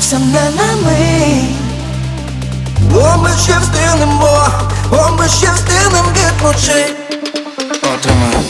втомився не на мить. О, ми ще встигнемо, о, ми ще встигнем відпочити. Отримай.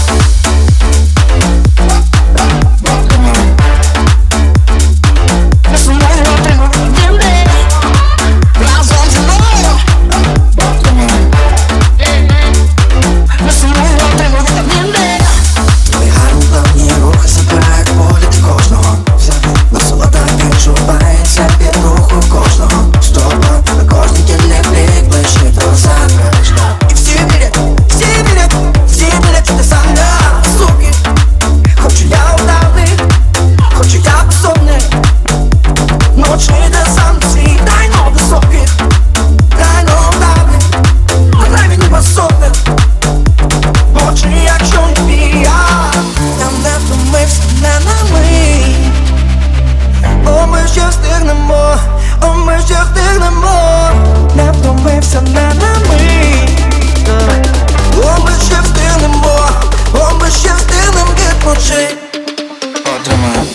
Не втомився не на мить. О, ми ще встигнемо, о, ми ще встигнем відпочити. Отримай.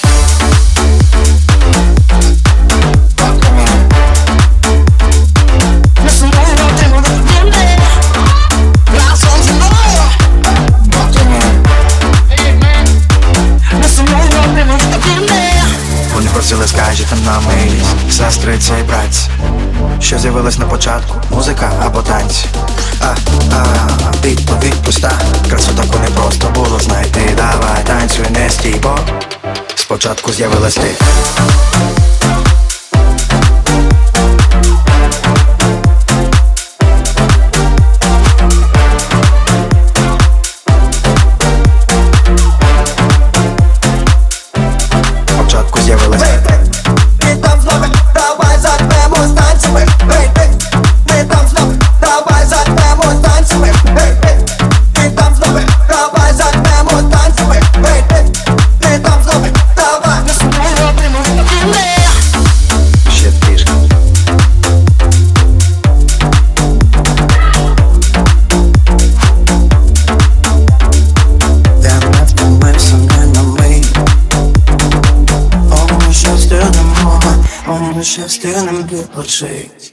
Вони просили, скажете нам милість, сестриці і братці, що з'явилось на початку, музика або танці. Відповідь пуста, красу таку не просто було знайти. Давай танцюй, не стій, бо спочатку з'явилась ти. Спочатку з'явилась ти. Ми ще встигнем відпочити.